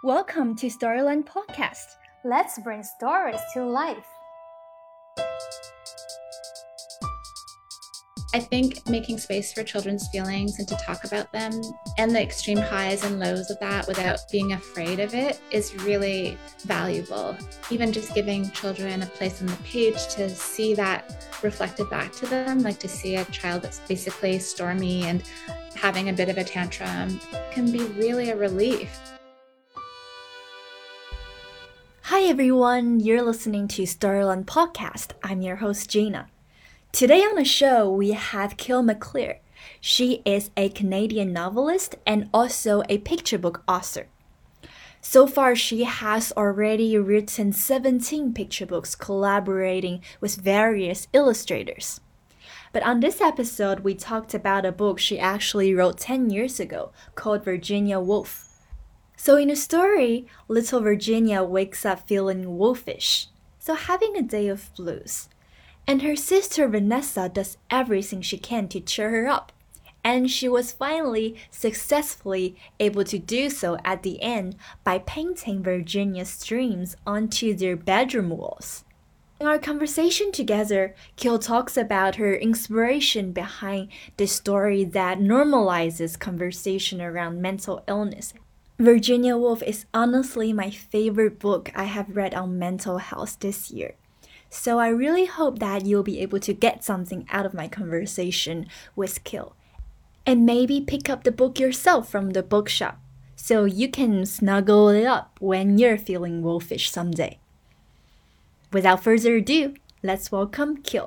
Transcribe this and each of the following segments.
Welcome to Storyland Podcast. Let's bring stories to life. I think making space for children's feelings and to talk about them and the extreme highs and lows of that without being afraid of it is really valuable. Even just giving children a place on the page to see that reflected back to them, like to see a child that's basically stormy and having a bit of a tantrum can be really a relief. Hi everyone, you're listening to Storyland Podcast. I'm your host Gina. Today on the show, we have Kyle McClear. She is a Canadian novelist and also a picture book author. So far, she has already written 17 picture books collaborating with various illustrators. But on this episode, we talked about a book she actually wrote 10 years ago called Virginia Woolf. So in the story, little Virginia wakes up feeling wolfish, so having a day of blues. And her sister Vanessa does everything she can to cheer her up. And she was finally successfully able to do so at the end by painting Virginia's dreams onto their bedroom walls. In our conversation together, Kyle talks about her inspiration behind the story that normalizes conversation around mental illness. Virginia Woolf is honestly my favorite book I have read on mental health this year. So I really hope that you'll be able to get something out of my conversation with Kyle. And maybe pick up the book yourself from the bookshop so you can snuggle it up when you're feeling wolfish someday. Without further ado, let's welcome Kyle.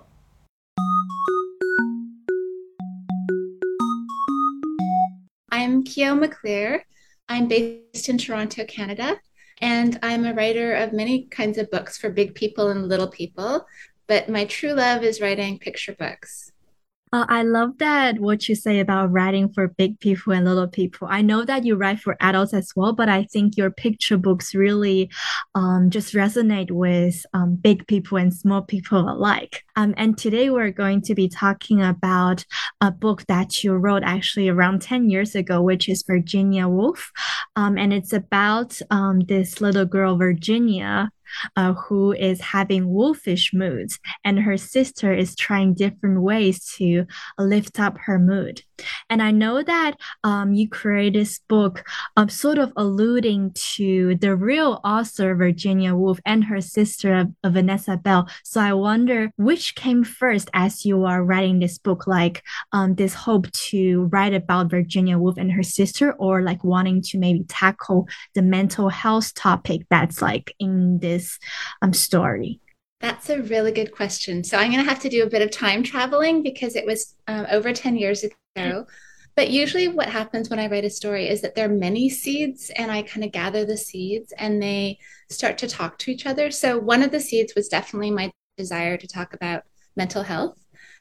I'm Kyle McClear. I'm based in Toronto, Canada, and I'm a writer of many kinds of books for big people and little people, but my true love is writing picture books. I love that what you say about writing for big people and little people. I know that you write for adults as well, but I think your picture books really just resonate with big people and small people alike. And today we're going to be talking about a book that you wrote actually around 10 years ago, which is Virginia Woolf. And it's about this little girl, Virginia, who is having wolfish moods, and her sister is trying different ways to lift up her mood. And I know that you created this book sort of alluding to the real author, Virginia Woolf, and her sister, Vanessa Bell. So I wonder which came first as you are writing this book, like this hope to write about Virginia Woolf and her sister, or like wanting to maybe tackle the mental health topic that's like in this story? That's a really good question. So I'm going to have to do a bit of time traveling because it was over 10 years ago. But usually what happens when I write a story is that there are many seeds and I kind of gather the seeds and they start to talk to each other. So one of the seeds was definitely my desire to talk about mental health.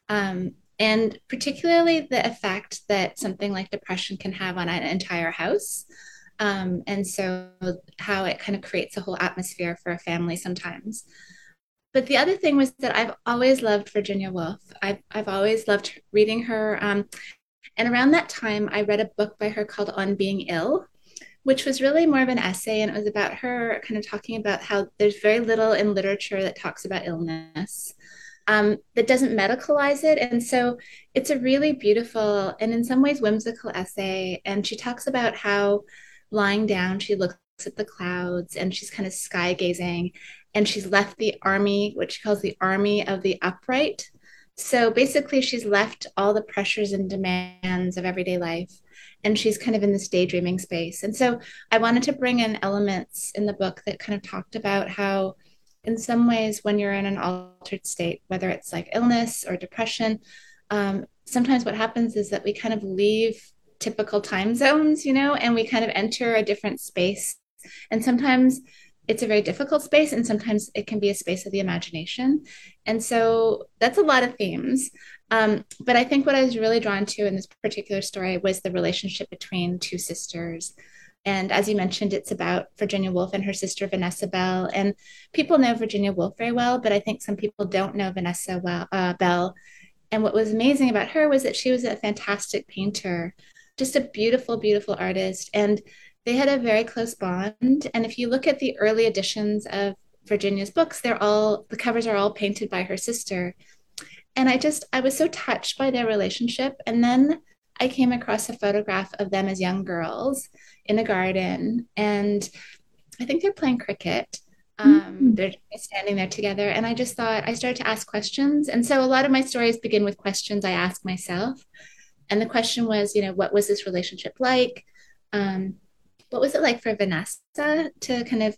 And particularly the effect that something like depression can have on an entire house. And so how it kind of creates a whole atmosphere for a family sometimes. But the other thing was that I've always loved Virginia Woolf. I've always loved reading her. And around that time, I read a book by her called On Being Ill, which was really more of an essay. And it was about her kind of talking about how there's very little in literature that talks about illness, that doesn't medicalize it. And so it's a really beautiful and in some ways whimsical essay. And she talks about how lying down, she looks at the clouds and she's kind of sky gazing, and she's left the army, what she calls the army of the upright. So basically, she's left all the pressures and demands of everyday life, and she's kind of in this daydreaming space. And so I wanted to bring in elements in the book that kind of talked about how, in some ways, when you're in an altered state, whether it's like illness or depression, sometimes what happens is that we kind of leave typical time zones, and we kind of enter a different space. And sometimes it's a very difficult space, and sometimes it can be a space of the imagination. And so that's a lot of themes. But I think what I was really drawn to in this particular story was the relationship between two sisters. And as you mentioned, it's about Virginia Woolf and her sister, Vanessa Bell. And people know Virginia Woolf very well, but I think some people don't know Vanessa Bell. And what was amazing about her was that she was a fantastic painter, just a beautiful, beautiful artist. And they had a very close bond. And if you look at the early editions of Virginia's books, the covers are all painted by her sister. And I was so touched by their relationship. And then I came across a photograph of them as young girls in a garden. And I think they're playing cricket. Mm. They're standing there together. And I just thought, I started to ask questions. And so a lot of my stories begin with questions I ask myself. And the question was, what was this relationship like? Um, what was it like for Vanessa to kind of,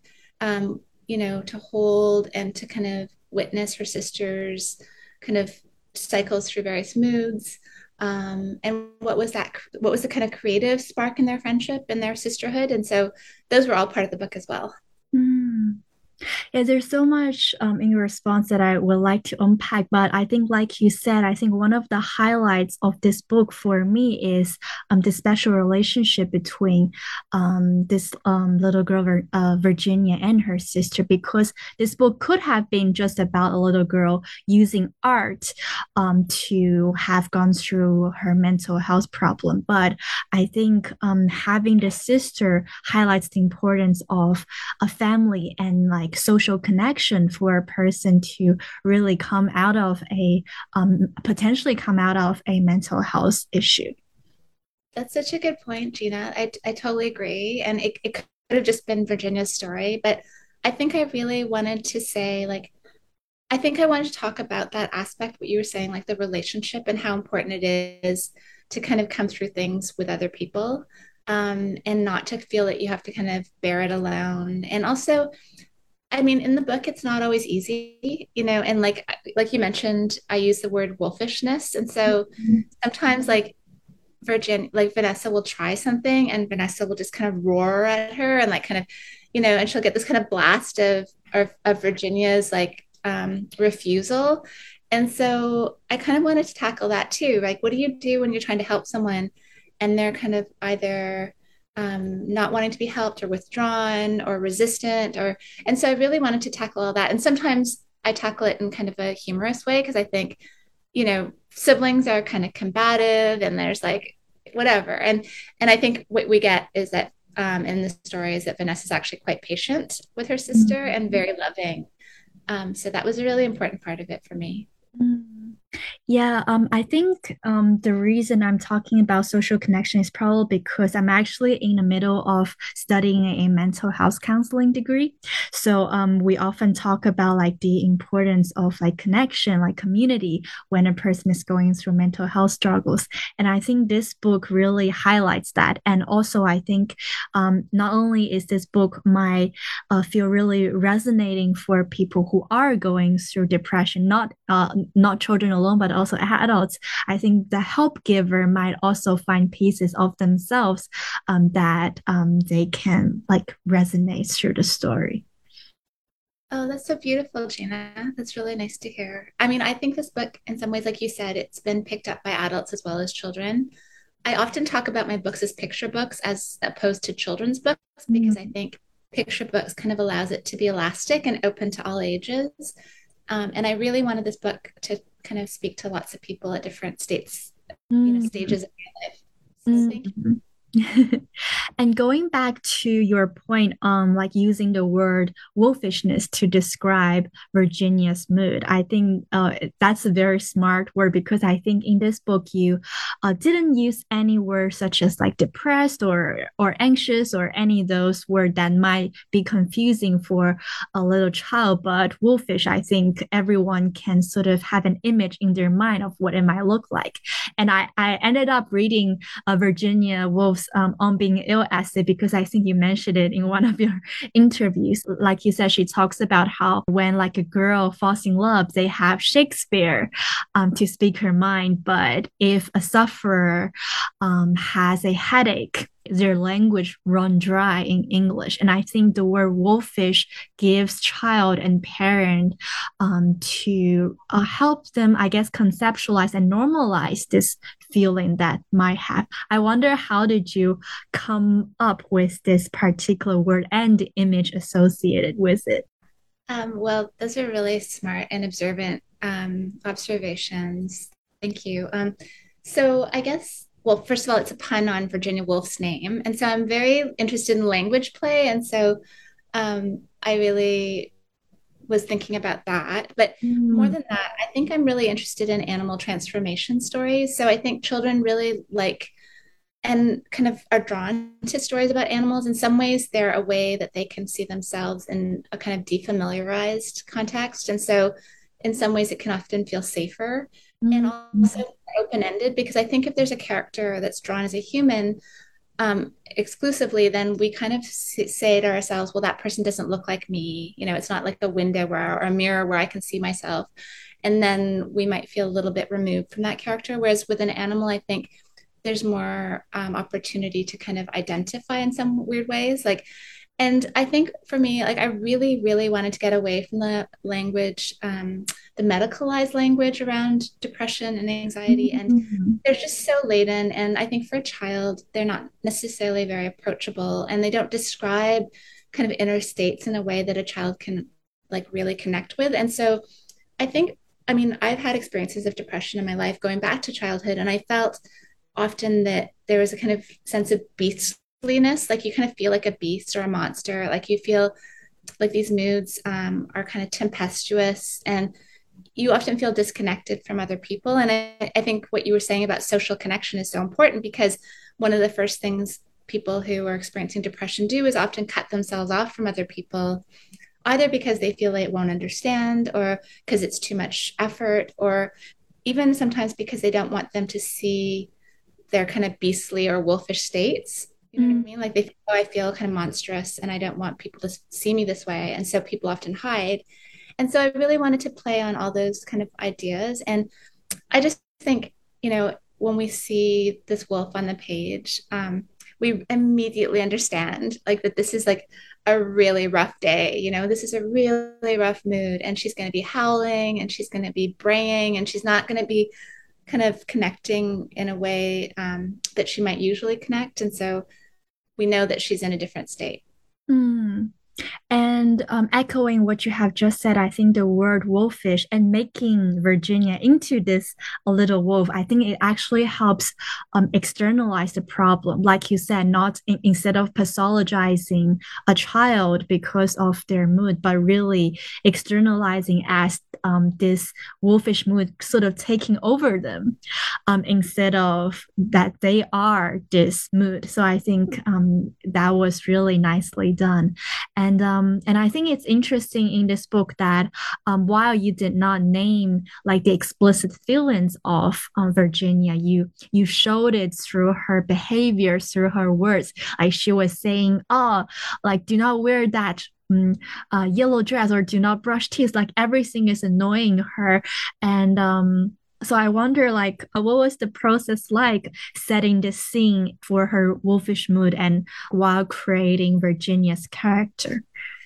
to hold and to kind of witness her sister's kind of cycles through various moods? And what was that? What was the kind of creative spark in their friendship and their sisterhood? And so those were all part of the book as well. Mm. Yeah, there's so much in your response that I would like to unpack, but I think, like you said, I think one of the highlights of this book for me is the special relationship between this little girl, Virginia, and her sister, because this book could have been just about a little girl using art to have gone through her mental health problem. But I think having the sister highlights the importance of a family and like social connection for a person to really come out of a potentially come out of a mental health issue. That's such a good point, Gina. I totally agree. And it could have just been Virginia's story, but I think I really wanted to say, like, I think I wanted to talk about that aspect, what you were saying, like the relationship and how important it is to kind of come through things with other people, and not to feel that you have to kind of bear it alone. And also, I mean, in the book, it's not always easy, and like you mentioned, I use the word wolfishness. And so sometimes like Vanessa will try something and Vanessa will just kind of roar at her and like kind of, and she'll get this kind of blast of Virginia's like refusal. And so I kind of wanted to tackle that too. Like, what do you do when you're trying to help someone and they're kind of either not wanting to be helped or withdrawn or resistant and so I really wanted to tackle all that. And sometimes I tackle it in kind of a humorous way because I think, siblings are kind of combative and there's like whatever. And I think what we get is that in the story is that Vanessa's actually quite patient with her sister and very loving. So that was a really important part of it for me. Mm. Yeah, I think the reason I'm talking about social connection is probably because I'm actually in the middle of studying a mental health counseling degree. So we often talk about like the importance of like connection, like community when a person is going through mental health struggles. And I think this book really highlights that. And also, I think not only is this book might feel really resonating for people who are going through depression, not children alone, but also adults. I think the help giver might also find pieces of themselves that they can like resonate through the story. Oh, that's so beautiful, Gina. That's really nice to hear. I mean, I think this book, in some ways, like you said, it's been picked up by adults as well as children. I often talk about my books as picture books as opposed to children's books because I Mm. think picture books kind of allows it to be elastic and open to all ages. And I really wanted this book to kind of speak to lots of people at different states, Mm. stages of my life. So thank you. Mm. And going back to your point on like using the word wolfishness to describe Virginia's mood, I think that's a very smart word because I think in this book you didn't use any words such as like depressed or anxious or any of those words that might be confusing for a little child. But wolfish, I think everyone can sort of have an image in their mind of what it might look like. And I ended up reading Virginia Woolf's On Being Ill essay because I think you mentioned it in one of your interviews. Like you said, she talks about how when like a girl falls in love, they have Shakespeare to speak her mind. But if a sufferer has a headache, their language run dry in English. And I think the word wolfish gives child and parent to help them, I guess, conceptualize and normalize this feeling that might have. I wonder how did you come up with this particular word and the image associated with it? Well, those are really smart and observant observations. Thank you. So I guess well, first of all, it's a pun on Virginia Woolf's name. And so I'm very interested in language play. And so I really was thinking about that. But more Mm. than that, I think I'm really interested in animal transformation stories. So I think children really like and kind of are drawn to stories about animals. In some ways, they're a way that they can see themselves in a kind of defamiliarized context. And so, in some ways, it can often feel safer and Mm. also open ended because I think if there's a character that's drawn as a human, exclusively, then we kind of say to ourselves, well, that person doesn't look like me. You know, it's not like a window where, or a mirror where I can see myself. And then we might feel a little bit removed from that character. Whereas with an animal, I think there's more opportunity to kind of identify in some weird ways. Like, and I think for me, like I really, really wanted to get away from the language, the medicalized language around depression and anxiety. And Mm. they're just so laden. And I think for a child, they're not necessarily very approachable and they don't describe kind of inner states in a way that a child can like really connect with. And so I think, I mean, I've had experiences of depression in my life going back to childhood, and I felt often that there was a kind of sense of beastliness, like you kind of feel like a beast or a monster, like you feel like these moods are kind of tempestuous and you often feel disconnected from other people. And I think what you were saying about social connection is so important because one of the first things people who are experiencing depression do is often cut themselves off from other people, either because they feel they won't understand or because it's too much effort, or even sometimes because they don't want them to see their kind of beastly or wolfish states. You know what I Mm. mean? Like they feel, oh, I feel kind of monstrous and I don't want people to see me this way. And so people often hide. And so I really wanted to play on all those kind of ideas. And I just think, you know, when we see this wolf on the page, we immediately understand like that this is like a really rough day. You know, this is a really rough mood, and she's going to be howling and she's going to be braying and she's not going to be kind of connecting in a way that she might usually connect. And so we know that she's in a different state. Mm. And echoing what you have just said, I think the word wolfish and making Virginia into this little wolf, I think it actually helps externalize the problem. Like you said, not instead of pathologizing a child because of their mood, but really externalizing as this wolfish mood sort of taking over them instead of that they are this mood. So I think that was really nicely done. And I think it's interesting in this book that while you did not name like the explicit feelings of Virginia, you showed it through her behavior, through her words. Like she was saying, "Oh, like do not wear that." Yellow dress or do not brush teeth, like everything is annoying her. And so I wonder, like, what was the process like setting the scene for her wolfish mood and while creating Virginia's character?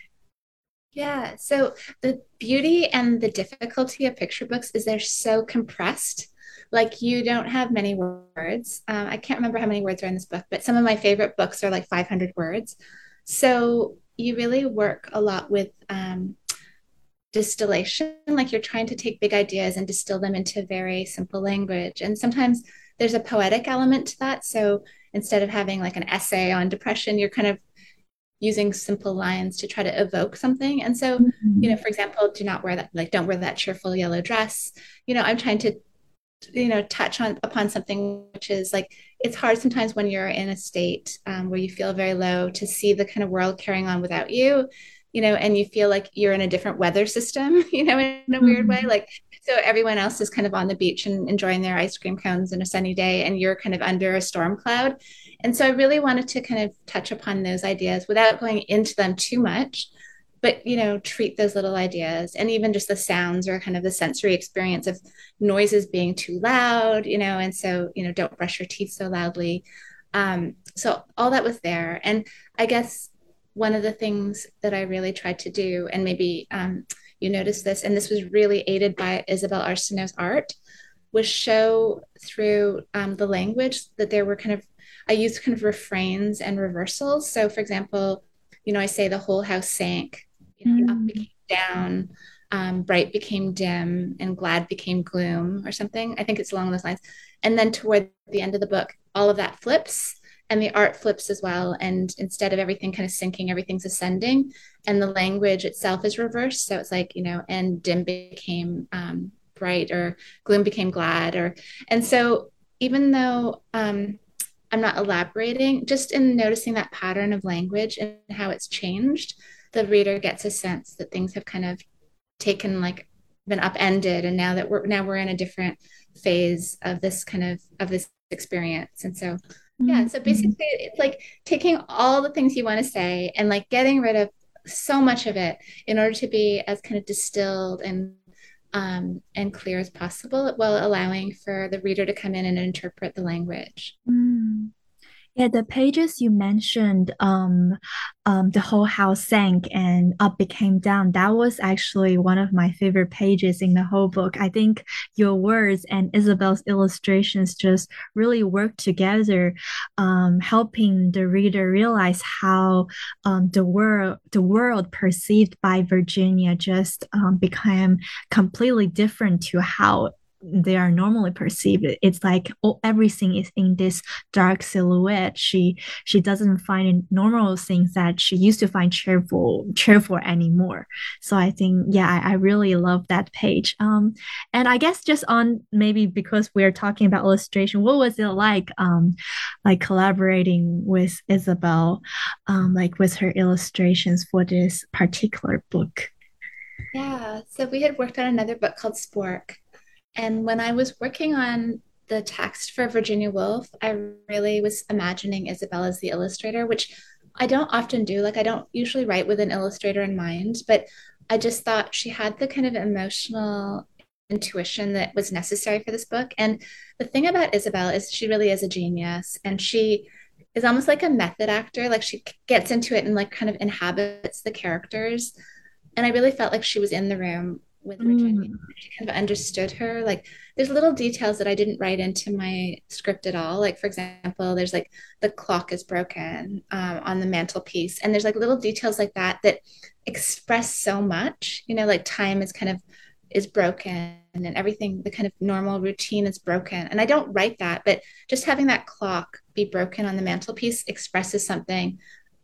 Yeah. So the beauty and the difficulty of picture books is they're so compressed. Like you don't have many words. I can't remember how many words are in this book, but some of my favorite books are like 500 words. So you really work a lot with distillation. Like you're trying to take big ideas and distill them into very simple language. And sometimes there's a poetic element to that. So instead of having like an essay on depression, you're kind of using simple lines to try to evoke something. And so, you know, Mhm. for example, do not wear that, like, don't wear that cheerful yellow dress. You know, I'm trying to, you know, touch on upon something which is like, it's hard sometimes when you're in a state where you feel very low to see the kind of world carrying on without you, you know, and you feel like you're in a different weather system, you know, in a weird way. Mhm. Like, so everyone else is kind of on the beach and enjoying their ice cream cones in a sunny day, and you're kind of under a storm cloud. And so I really wanted to kind of touch upon those ideas without going into them too much, but you know, treat those little ideas and even just the sounds or kind of the sensory experience of noises being too loud, you know, and so, you know, don't brush your teeth so loudly. So all that was there. And I guess one of the things that I really tried to do, and maybe you noticed this, and this was really aided by Isabel Arsenault's art, was show through the language that there were kind of, I used kind of refrains and reversals. So, for example, you know, I say the whole house sank, you know, up became Mm. down, bright became dim, and glad became gloom, or something. I think it's along those lines. And then toward the end of the book, all of that flips and the art flips as well. And instead of everything kind of sinking, everything's ascending, and the language itself is reversed. So it's like, and dim became bright, or gloom became glad, or and so even though I'm not elaborating, just in noticing that pattern of language and how it's changed, the reader gets a sense that things have kind of taken like been upended, and now we're in a different phase of this experience. And so yeah, so Mhm. basically it's like taking all the things you want to say and like getting rid of so much of it in order to be as kind of distilled and clear as possible, while allowing for the reader to come in and interpret the language. Mm. Yeah, the pages you mentioned, the whole house sank and up became down. That was actually one of my favorite pages in the whole book. I think your words and Isabel's illustrations just really work together, helping the reader realize how the world perceived by Virginia just became completely different to how they are normally perceived. It's like, oh, everything is in this dark silhouette. She doesn't find normal things that she used to find cheerful anymore. So I think, yeah, I really love that page. And I guess just on, maybe because we're talking about illustration, what was it like collaborating with Isabel, like with her illustrations for this particular book? Yeah, so we had worked on another book called Spork. And when I was working on the text for Virginia Woolf, I really was imagining Isabel as the illustrator, which I don't often do. Like, I don't usually write with an illustrator in mind, but I just thought she had the kind of emotional intuition that was necessary for this book. And the thing about Isabel is she really is a genius, and she is almost like a method actor. Like, she gets into it and like kind of inhabits the characters. And I really felt like she was in the room with Virginia. Mm. She kind of understood her. Like, there's little details that I didn't write into my script at all. Like, for example, there's like the clock is broken on the mantelpiece, and there's like little details like that that express so much. Like time is broken, and everything, the kind of normal routine is broken. And I don't write that, but just having that clock be broken on the mantelpiece expresses something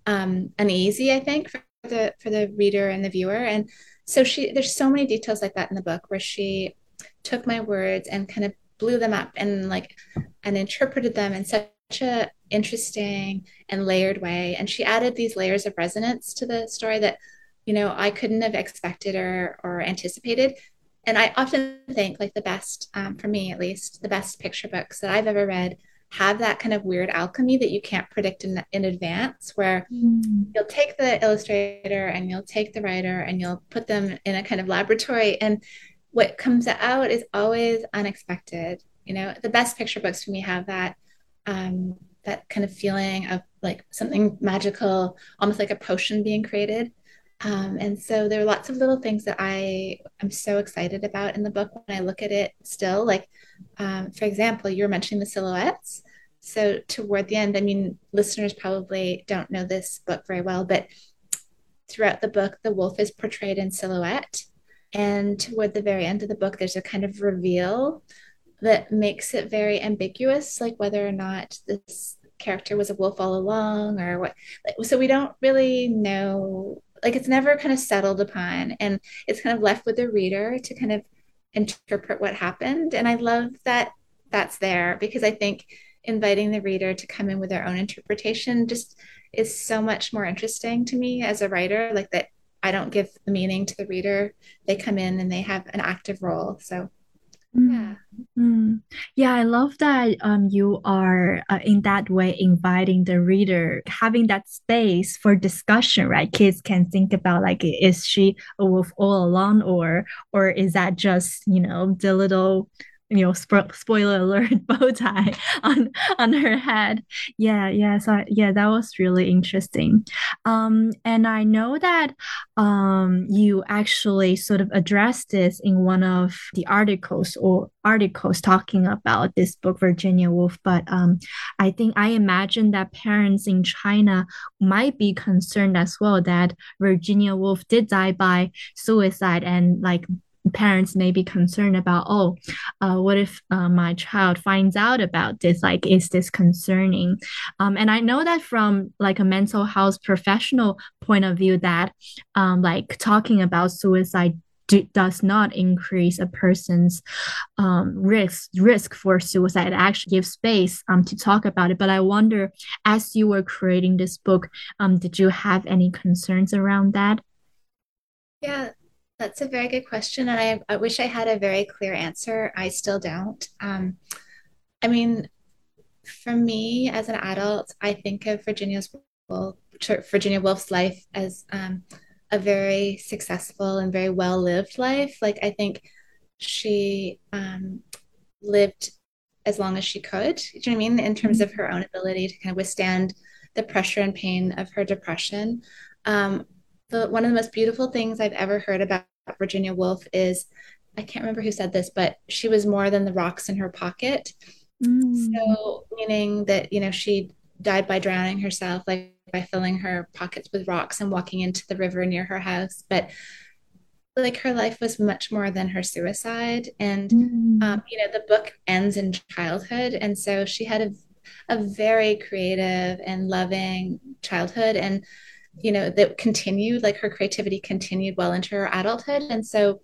uneasy, I think, for the reader and the viewer. And so there's so many details like that in the book, where she took my words and kind of blew them up and interpreted them in such a interesting and layered way. And she added these layers of resonance to the story that I couldn't have expected or anticipated. And I often think, like, the best, for me at least, the best picture books that I've ever read have that kind of weird alchemy that you can't predict in advance, where Mm. you'll take the illustrator and you'll take the writer and you'll put them in a kind of laboratory, and what comes out is always unexpected. The best picture books for me have um, that kind of feeling of like something magical, almost like a potion being created. And so there are lots of little things that I am so excited about in the book when I look at it still. Like, for example, you were mentioning the silhouettes. So toward the end, I mean, listeners probably don't know this book very well, but throughout the book, the wolf is portrayed in silhouette. And toward the very end of the book, there's a kind of reveal that makes it very ambiguous, like whether or not this character was a wolf all along or what. So we don't really know, like, it's never kind of settled upon, and it's kind of left with the reader to kind of interpret what happened. And I love that that's there, because I think inviting the reader to come in with their own interpretation just is so much more interesting to me as a writer. Like, that I don't give the meaning to the reader, they come in and they have an active role. So yeah. Mm, mm. Yeah, I love that you are in that way inviting the reader, having that space for discussion, right? Kids can think about, like, is she a wolf all along, or is that just, the little, spoiler alert, bow tie on her head. Yeah, yeah. So yeah, that was really interesting. And I know that you actually sort of addressed this in one of the articles talking about this book, Virginia Woolf. But I think I imagine that parents in China might be concerned as well that Virginia Woolf did die by suicide, and like parents may be concerned about, oh, what if my child finds out about this? Like, is this concerning? And I know that from like a mental health professional point of view, that like talking about suicide does not increase a person's risk for suicide. It actually gives space to talk about it. But I wonder, as you were creating this book, did you have any concerns around that? Yeah, that's a very good question. And I wish I had a very clear answer. I still don't. I mean, for me as an adult, I think of Woolf, Virginia Woolf's life as a very successful and very well lived life. Like, I think she lived as long as she could. Do you know what I mean? In terms of her own ability to kind of withstand the pressure and pain of her depression. Um, one of the most beautiful things I've ever heard about Virginia Woolf is, I can't remember who said this, but she was more than the rocks in her pocket. Mm. So, meaning that, she died by drowning herself, like by filling her pockets with rocks and walking into the river near her house. But like her life was much more than her suicide. And, Mm. the book ends in childhood. And so she had a very creative and loving childhood. And, that continued, like her creativity continued well into her adulthood. And so,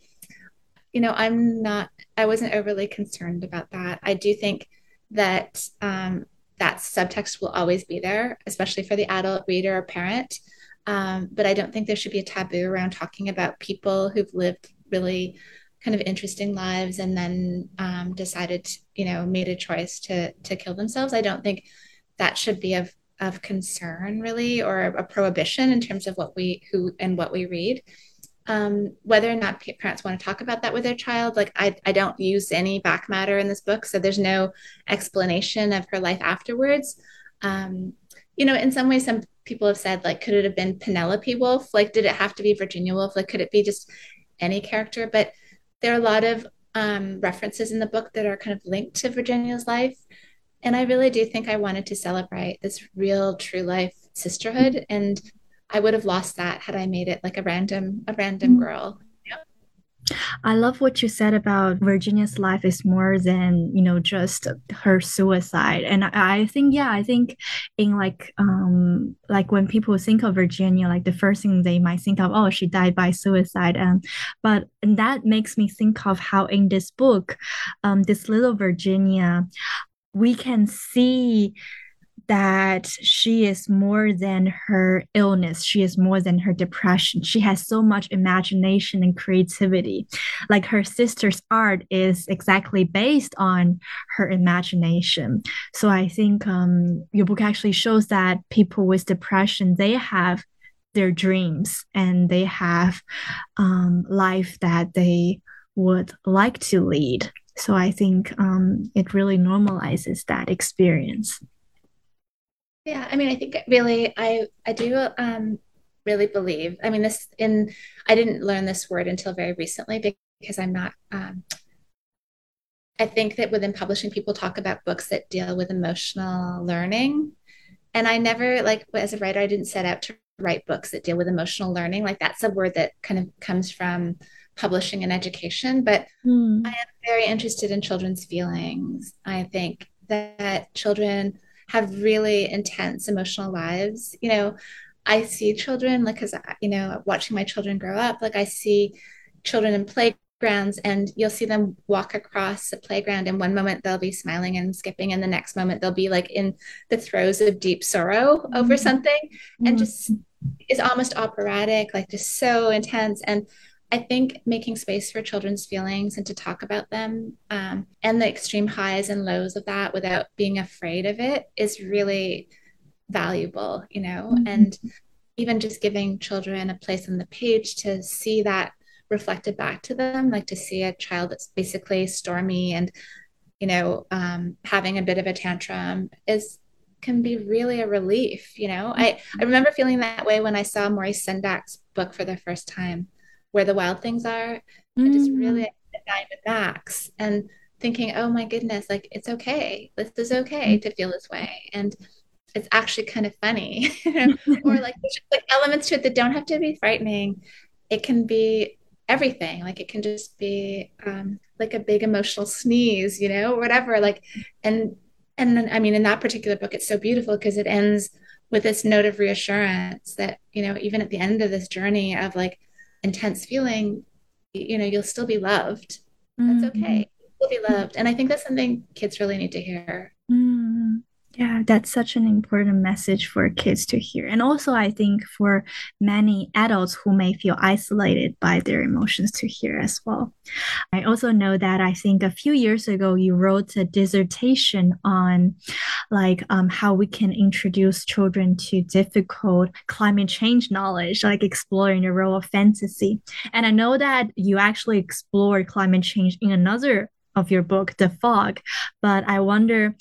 I wasn't overly concerned about that. I do think that that subtext will always be there, especially for the adult reader or parent. But I don't think there should be a taboo around talking about people who've lived really kind of interesting lives and then decided, made a choice to kill themselves. I don't think that should be of concern really, or a prohibition in terms of what we read. Whether or not parents want to talk about that with their child, like I don't use any back matter in this book, so there's no explanation of her life afterwards. um, in some ways, some people have said, like, could it have been Penelope Wolf? Like, did it have to be Virginia Woolf? Like, could it be just any character? But there are a lot of references in the book that are kind of linked to Virginia's life, and I really do think I wanted to celebrate this real true life sisterhood, and I would have lost that had I made it like a random Mm. girl. Yeah. I love what you said about Virginia's life is more than, just her suicide. And I think, yeah, I think in like when people think of Virginia, like the first thing they might think of, oh, she died by suicide. But that makes me think of how in this book, this little Virginia, we can see that she is more than her illness. She is more than her depression. She has so much imagination and creativity. Like her sister's art is exactly based on her imagination. So I think your book actually shows that people with depression, they have their dreams and they have life that they would like to lead. So I think it really normalizes that experience. Yeah, I mean, I think really, I do really believe. I mean, I didn't learn this word until very recently because I'm not. I think that within publishing, people talk about books that deal with emotional learning, and I never, like, as a writer, I didn't set out to write books that deal with emotional learning. Like, that's a word that kind of comes from publishing and education, but I Mm. am very interested in children's feelings. I think that children have really intense emotional lives. I see children, like, because, watching my children grow up, like, I see children in playgrounds, and you'll see them walk across the playground, and one moment they'll be smiling and skipping, and the next moment they'll be like in the throes of deep sorrow over something, and Mm. just is almost operatic, like just so intense. And I think making space for children's feelings and to talk about them, and the extreme highs and lows of that without being afraid of it is really valuable, Mm. and even just giving children a place on the page to see that reflected back to them, like to see a child that's basically stormy and, having a bit of a tantrum is can be really a relief. I remember feeling that way when I saw Maurice Sendak's book for the first time, Where the Wild Things Are, and just Mm. really with Max and thinking, oh my goodness, like, it's okay. This is okay to feel this way. And it's actually kind of funny. Or like there's just like elements to it that don't have to be frightening. It can be everything. Like it can just be like a big emotional sneeze, whatever. Like, and I mean, in that particular book, it's so beautiful because it ends with this note of reassurance that, even at the end of this journey of like intense feeling, you'll still be loved. That's Mm-hmm. okay. You'll be loved. And I think that's something kids really need to hear. Mm, yeah, that's such an important message for kids to hear. And also, I think for many adults who may feel isolated by their emotions to hear as well. I also know that I think a few years ago you wrote a dissertation on how we can introduce children to difficult climate change knowledge, like exploring the role of fantasy. And I know that you actually explored climate change in another of your book, The Fog, but I wonder,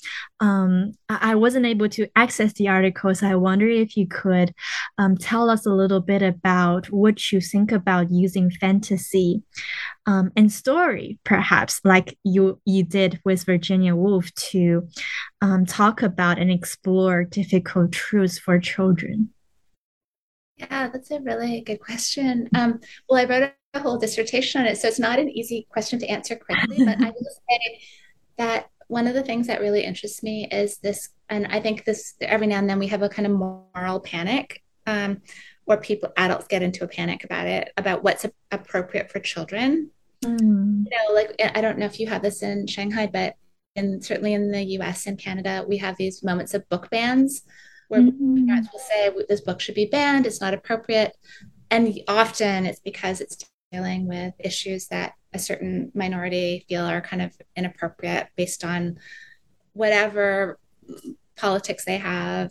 I wasn't able to access the article, so I wonder if you could tell us a little bit about what you think about using fantasy and story, perhaps like you did with Virginia Woolf to talk about and explore difficult truths for children. Yeah, that's a really good question. Well, I wrote a whole dissertation on it, so it's not an easy question to answer quickly, but I will say that one of the things that really interests me is this, and I think this every now and then we have a kind of moral panic, where adults get into a panic about it, about what's appropriate for children. Mm, Like I don't know if you have this in Shanghai, but certainly in the US and Canada, we have these moments of book bans where mm, parents will say this book should be banned, it's not appropriate. And often it's because it's dealing with issues that a certain minority feel are kind of inappropriate based on whatever politics they have,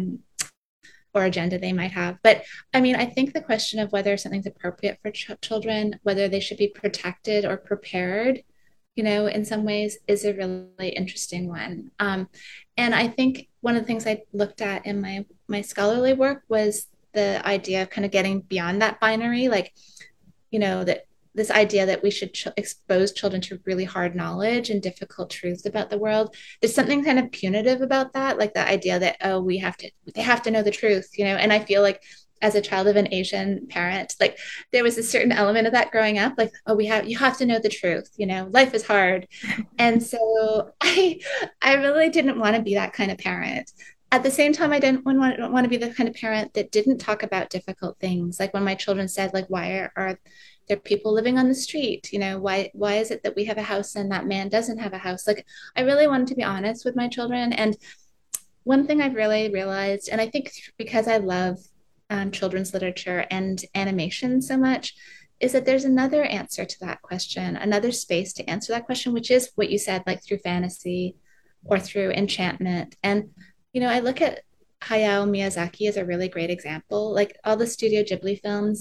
or agenda they might have. But I mean, I think the question of whether something's appropriate for children, whether they should be protected or prepared, in some ways is a really interesting one. And I think one of the things I looked at in my scholarly work was the idea of kind of getting beyond that binary, like, that this idea that we should expose children to really hard knowledge and difficult truths about the world. There's something kind of punitive about that, like the idea that, oh, they have to know the truth, and I feel like as a child of an Asian parent, like there was a certain element of that growing up, like, oh, you have to know the truth, life is hard. And so I really didn't want to be that kind of parent. At the same time, I didn't want to be the kind of parent that didn't talk about difficult things. Like when my children said, like, why are there people living on the street? Why is it that we have a house and that man doesn't have a house? Like, I really wanted to be honest with my children. And one thing I've really realized, and I think because I love children's literature and animation so much, is that there's another answer to that question, another space to answer that question, which is what you said, like through fantasy or through enchantment. And, I look at Hayao Miyazaki as a really great example. Like all the Studio Ghibli films,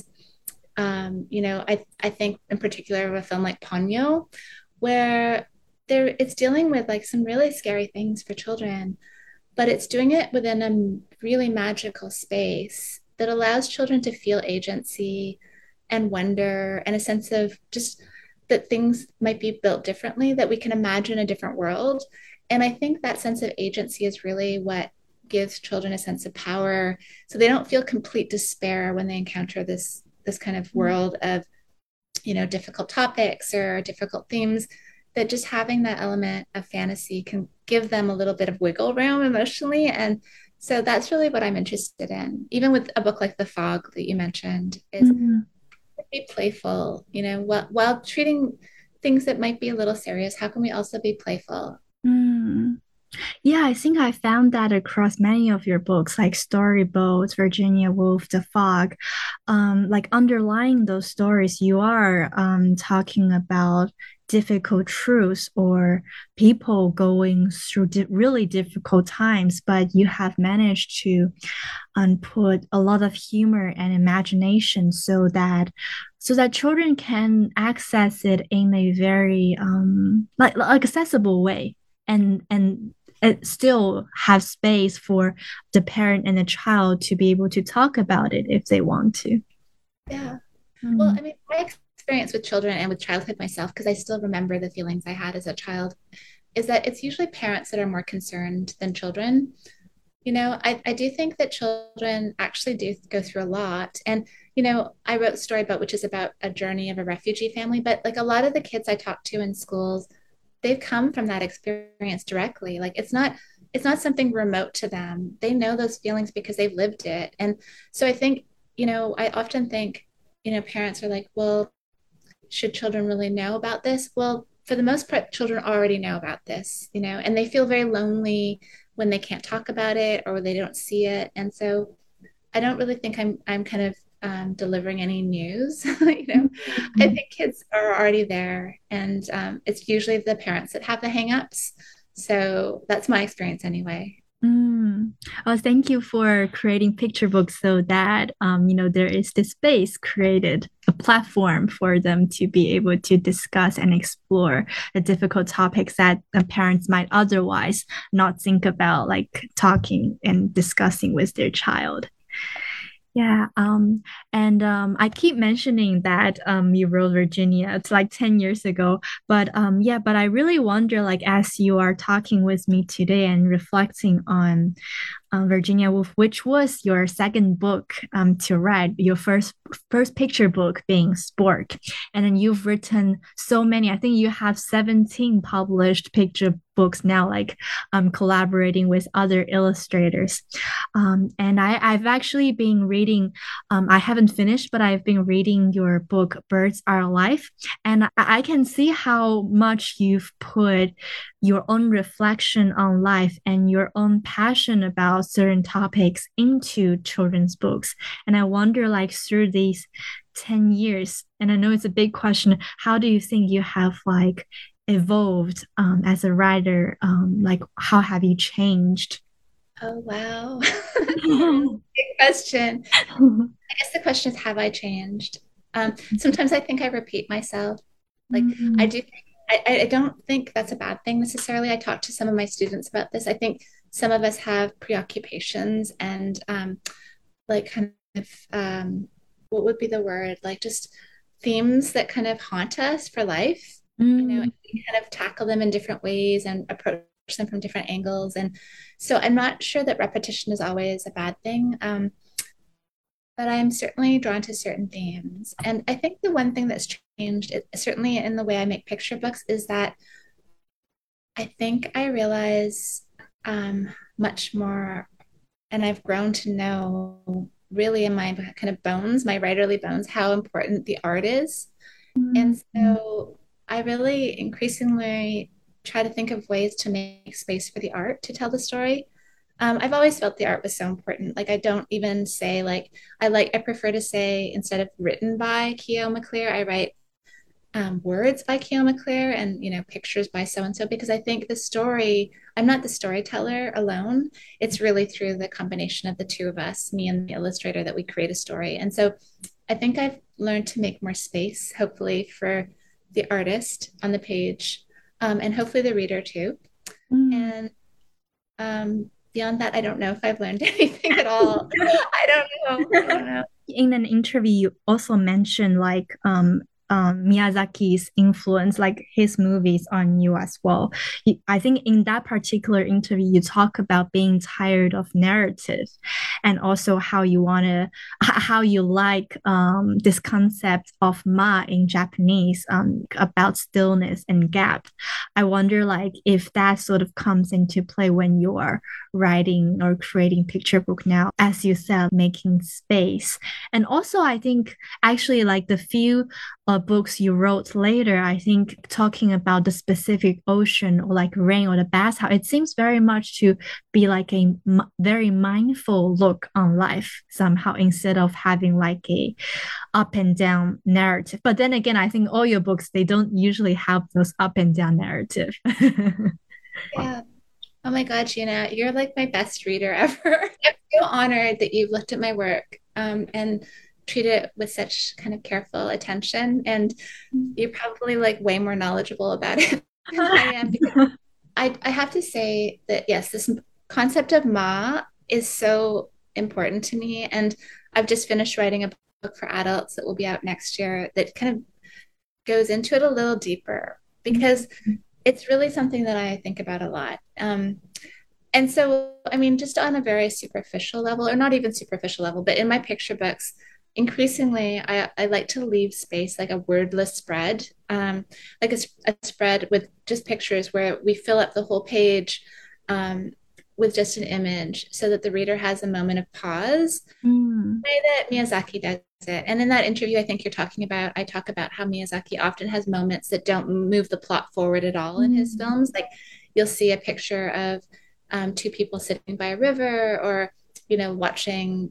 I think in particular of a film like Ponyo, where it's dealing with like some really scary things for children, but it's doing it within a really magical space that allows children to feel agency and wonder and a sense of just that things might be built differently, that we can imagine a different world. And I think that sense of agency is really what gives children a sense of power, so they don't feel complete despair when they encounter this kind of world of, difficult topics or difficult themes, that just having that element of fantasy can give them a little bit of wiggle room emotionally. And so that's really what I'm interested in, even with a book like The Fog that you mentioned, is mm, be playful, while treating things that might be a little serious. How can we also be playful? mm. Yeah, I think I found that across many of your books, like Storyboats, Virginia Woolf, The Fog. Like underlying those stories, you are talking about difficult truths or people going through really difficult times, but you have managed to put a lot of humor and imagination so that children can access it in a very like accessible way and it still have space for the parent and the child to be able to talk about it if they want to. Yeah. Well, Mm, I mean, my experience with children and with childhood myself, because I still remember the feelings I had as a child, is that it's usually parents that are more concerned than children. I do think that children actually do go through a lot. And, I wrote a story about which is about a journey of a refugee family, but like a lot of the kids I talk to in schools, they've come from that experience directly. Like it's not something remote to them. They know those feelings because they've lived it. And so I think, I often think, parents are like, well, should children really know about this? Well, for the most part, children already know about this, and they feel very lonely when they can't talk about it or they don't see it. And so I don't really think I'm kind of delivering any news. I think kids are already there, and it's usually the parents that have the hangups. So that's my experience anyway. Mm. Oh, thank you for creating picture books so that there is this space created, a platform for them to be able to discuss and explore the difficult topics that the parents might otherwise not think about, like talking and discussing with their child. Yeah, and I keep mentioning that you wrote Virginia. It's like 10 years ago. But yeah, but I really wonder, like, as you are talking with me today and reflecting on Virginia Woolf, which was your second book to write, your first picture book being Spork. And then you've written so many. I think you have 17 published picture books now, like collaborating with other illustrators. And I've actually been reading, I haven't finished, but I've been reading your book, Birds Are Alive. And I can see how much you've put your own reflection on life and your own passion about certain topics into children's books. And I wonder, like, through these 10 years, and I know it's a big question, how do you think you have like evolved as a writer? Like, how have you changed? Oh, wow. That's a really big question. I guess the question is, have I changed? Sometimes I think I repeat myself. Like I Mm, do think, I don't think that's a bad thing necessarily. I talked to some of my students about this. I think some of us have preoccupations and like kind of what would be the word? Like just themes that kind of haunt us for life. And mm, we kind of tackle them in different ways and approach them from different angles. And so I'm not sure that repetition is always a bad thing. But I'm certainly drawn to certain themes. And I think the one thing that's changed, certainly in the way I make picture books, is that I think I realize much more, and I've grown to know really in my kind of bones, my writerly bones, how important the art is. And mm, so I really increasingly try to think of ways to make space for the art to tell the story. I've always felt the art was so important. Like I don't even say like I prefer to say instead of written by Keo McClear, I write words by Keo McClear and pictures by so and so because I think the story. I'm not the storyteller alone. It's really through the combination of the two of us, me and the illustrator, that we create a story. And so I think I've learned to make more space, hopefully, for the artist on the page, and hopefully the reader too. mm. And beyond that, I don't know if I've learned anything at all. I don't know. I don't know. In an interview, you also mentioned like Miyazaki's influence, like his movies on you as well. I think in that particular interview, you talk about being tired of narrative, and also how you wanna, how you like this concept of ma in Japanese, about stillness and gap. I wonder like if that sort of comes into play when you are writing or creating picture book now, as you said, making space. And also, I think actually, like the few books you wrote later, I think talking about the specific ocean or like rain or the bathhouse, it seems very much to be like a very mindful look on life somehow, instead of having like a up and down narrative. But then again, I think all your books, they don't usually have those up and down narrative. Yeah. Oh my God, Gina, you're like my best reader ever. I'm so honored that you've looked at my work and treated it with such kind of careful attention. And you're probably like way more knowledgeable about it than I am. Because I have to say that, yes, this concept of Ma is so important to me. And I've just finished writing a book for adults that will be out next year that kind of goes into it a little deeper because it's really something that I think about a lot. And so, I mean, just on a very superficial level, or not even superficial level, but in my picture books, increasingly, I like to leave space, like a wordless spread, like a spread with just pictures where we fill up the whole page um, with just an image so that the reader has a moment of pause, Mm. the way that Miyazaki does it. And in that interview, I think you're talking about, I talk about how Miyazaki often has moments that don't move the plot forward at all in his Mm. films. Like you'll see a picture of two people sitting by a river, or watching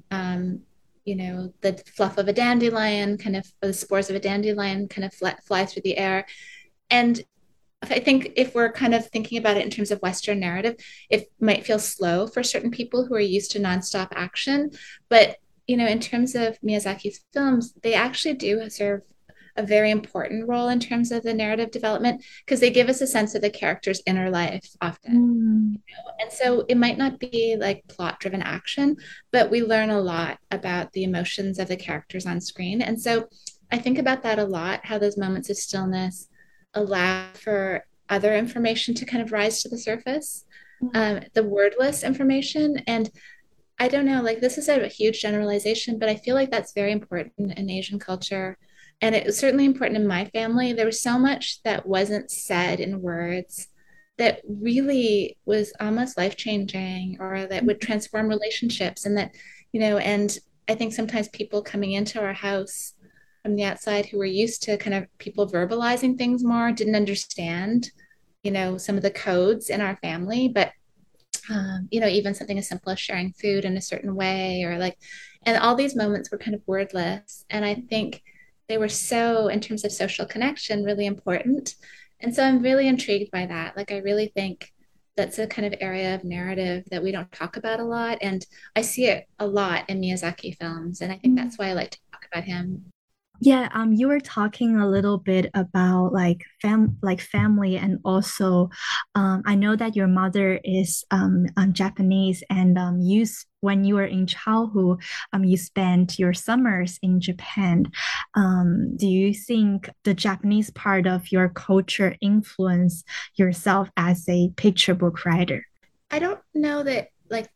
the fluff of a dandelion, kind of the spores of a dandelion kind of fly through the air. And I think if we're kind of thinking about it in terms of Western narrative, it might feel slow for certain people who are used to nonstop action. But, in terms of Miyazaki's films, they actually do serve a very important role in terms of the narrative development because they give us a sense of the character's inner life often. Mm. And so it might not be like plot driven action, but we learn a lot about the emotions of the characters on screen. And so I think about that a lot, how those moments of stillness allow for other information to kind of rise to the surface, the wordless information. And I don't know, like this is a huge generalization, but I feel like that's very important in Asian culture. And it was certainly important in my family. There was so much that wasn't said in words that really was almost life changing or that would transform relationships. And that, and I think sometimes people coming into our house from the outside who were used to kind of people verbalizing things more didn't understand, some of the codes in our family. But even something as simple as sharing food in a certain way, or like, and all these moments were kind of wordless. And I think they were so, in terms of social connection, really important. And so I'm really intrigued by that. Like, I really think that's a kind of area of narrative that we don't talk about a lot. And I see it a lot in Miyazaki films. And I think Mm. that's why I like to talk about him. Yeah, you were talking a little bit about like family and also I know that your mother is Japanese and when you were in childhood you spent your summers in Japan. Do you think the Japanese part of your culture influence yourself as a picture book writer? I don't know that,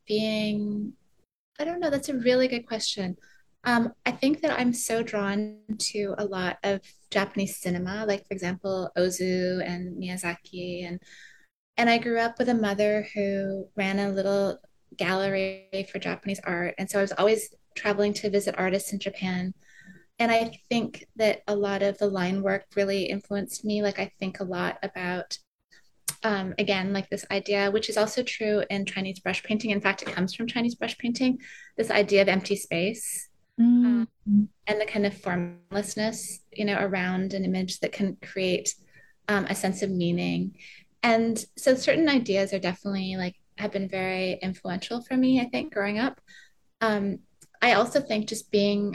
I don't know. That's a really good question. I think that I'm so drawn to a lot of Japanese cinema, like for example, Ozu and Miyazaki, and I grew up with a mother who ran a little gallery for Japanese art, and so I was always traveling to visit artists in Japan. And I think that a lot of the line work really influenced me. Like I think a lot about again, like this idea, which is also true in Chinese brush painting. In fact, it comes from Chinese brush painting, this idea of empty space Mm. um, and the kind of formlessness, around an image that can create a sense of meaning. And so certain ideas are definitely like have been very influential for me, I think, growing up. Um, I also think just being,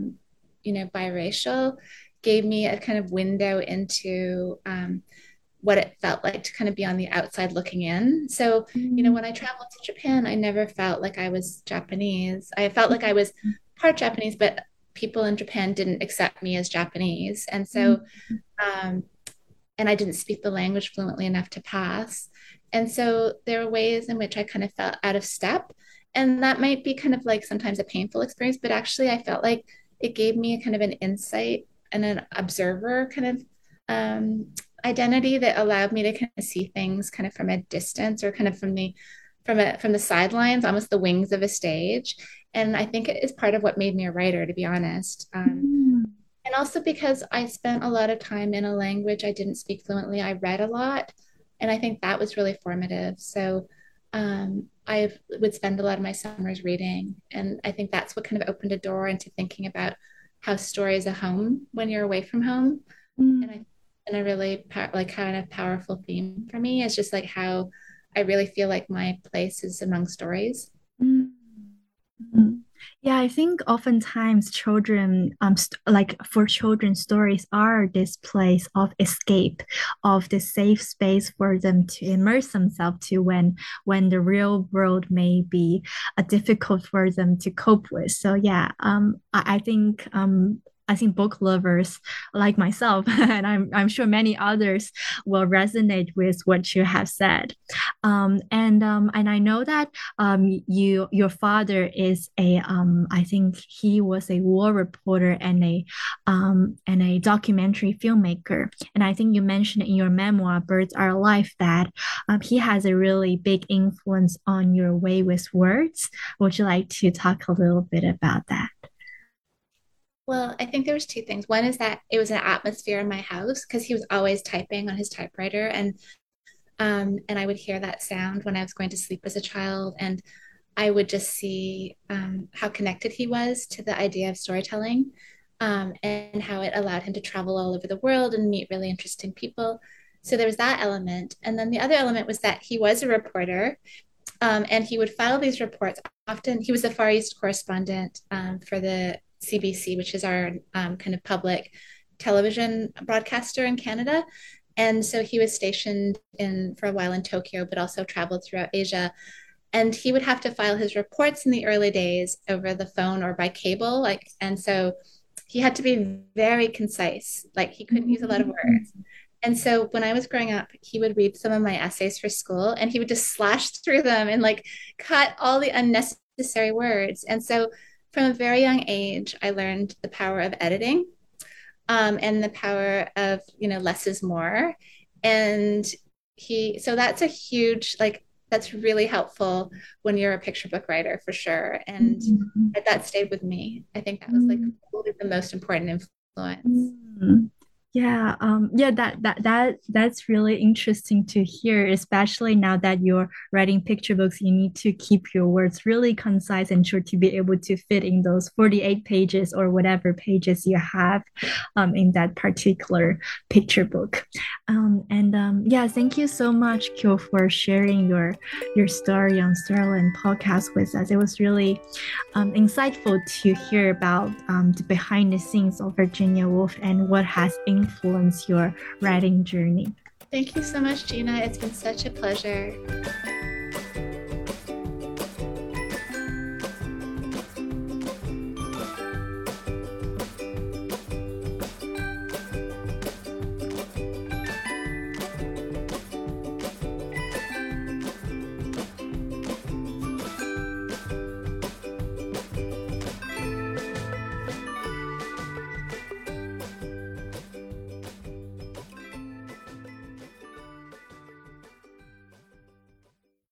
biracial gave me a kind of window into what it felt like to kind of be on the outside looking in. So, Mm. when I traveled to Japan, I never felt like I was Japanese. I felt like I was part Japanese, but people in Japan didn't accept me as Japanese. And Mm. so, um, and I didn't speak the language fluently enough to pass. And so there were ways in which I kind of felt out of step. And that might be kind of like sometimes a painful experience, but actually I felt like it gave me a kind of an insight and an observer kind of um, identity that allowed me to kind of see things kind of from a distance or kind of from the sidelines, almost the wings of a stage. And I think it is part of what made me a writer, to be honest. Mm. And also because I spent a lot of time in a language I didn't speak fluently, I read a lot. And I think that was really formative. So I would spend a lot of my summers reading. And I think that's what kind of opened a door into thinking about how story is a home when you're away from home. And Mm. I and a really like kind of powerful theme for me is just like how I really feel like my place is among stories. Mm. Mm. Yeah, I think oftentimes children, like for children, stories are this place of escape, of the safe space for them to immerse themselves to when the real world may be difficult for them to cope with. So yeah, I think I think book lovers like myself, and I'm sure many others will resonate with what you have said. And I know that your father is I think he was a war reporter and a documentary filmmaker. And I think you mentioned in your memoir, Birds Are Alive, that he has a really big influence on your way with words. Would you like to talk a little bit about that? Well, I think there was two things. One is that it was an atmosphere in my house because he was always typing on his typewriter, and I would hear that sound when I was going to sleep as a child, and I would just see how connected he was to the idea of storytelling, and how it allowed him to travel all over the world and meet really interesting people. So there was that element, and then the other element was that he was a reporter, and he would file these reports. Often, he was the Far East correspondent for the CBC, which is our kind of public television broadcaster in Canada. And so he was stationed in for a while in Tokyo, but also traveled throughout Asia. And he would have to file his reports in the early days over the phone or by cable. And so he had to be very concise. Like he couldn't use a lot of words. And so when I was growing up, he would read some of my essays for school and he would just slash through them and like cut all the unnecessary words. And so from a very young age, I learned the power of editing, and the power of, less is more. And so that's a huge, like, that's really helpful when you're a picture book writer for sure. And that stayed with me. I think that was like probably the most important influence. Mm. Yeah, that's really interesting to hear, especially now that you're writing picture books, you need to keep your words really concise and sure to be able to fit in those 48 pages or whatever pages you have in that particular picture book. Yeah, thank you so much, Kyo, for sharing your story on Sterling podcast with us. It was really insightful to hear about the behind the scenes of Virginia Woolf and what has influenced your writing journey. Thank you so much, Gina. It's been such a pleasure.